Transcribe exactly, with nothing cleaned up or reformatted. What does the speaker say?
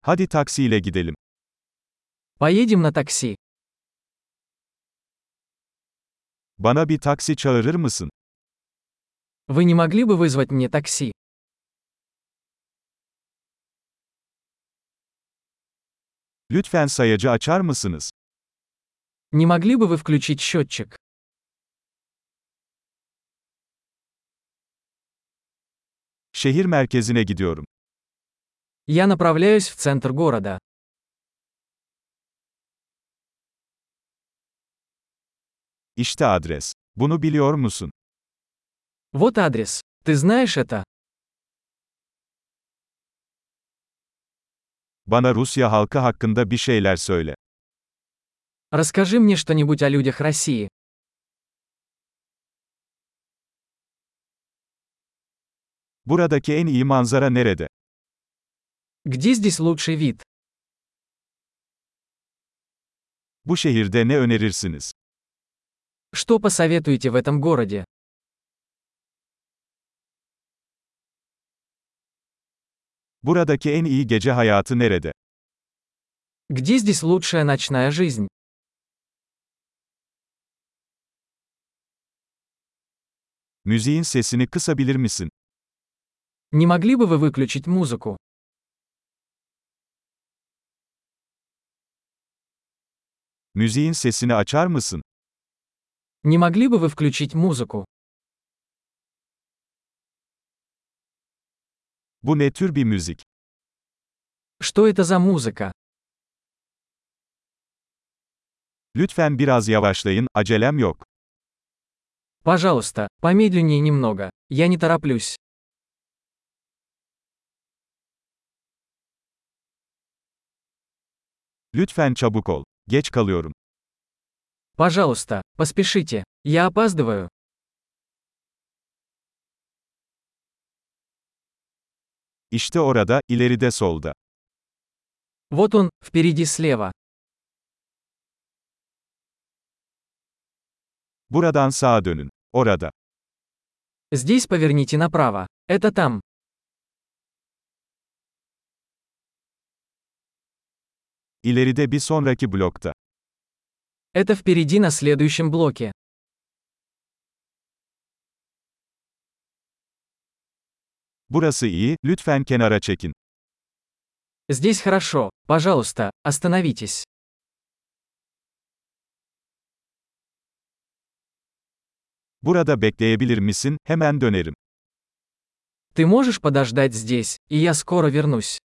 Hadi taksiyle gidelim. Поедем на такси. Bana bir taksi çağırır mısın? Вы не могли бы вызвать мне такси? Lütfen sayacı açar mısınız? Не могли бы вы включить счетчик? Şehir merkezine gidiyorum. Я направляюсь в центр города. İşte adres. Bunu biliyor musun? Вот адрес. Ты знаешь это? Bana Rusya halkı hakkında bir şeyler söyle. Расскажи мне что-нибудь о людях России. Buradaki en iyi manzara nerede? Где здесь лучший вид? Bu şehirde ne önerirsiniz? Что посоветуете в этом городе? Buradaki en iyi gece hayatı nerede? Где здесь лучшая ночная жизнь? Müziğin sesini kısabilir misin? Не могли бы вы выключить музыку? Müziğin sesini açar mısın? Не могли бы вы включить музыку? Bu ne tür bir müzik? Что это за музыка? Lütfen biraz yavaşlayın, acelem yok. Пожалуйста, помедленнее немного. Я не тороплюсь. Lütfen çabuk ol. Geç kalıyorum. Пожалуйста, поспешите. Я опаздываю. İşte orada, ileride solda. Вот он, впереди слева. Buradan sağa dönün. Orada. Здесь поверните направо. Это там. İleride bir sonraki blokta. Это впереди на следующем блоке. Burası iyi, lütfen kenara çekin. Здесь хорошо. Пожалуйста, остановитесь. Burada bekleyebilir misin? Hemen dönerim. Ты можешь подождать здесь, и я скоро вернусь.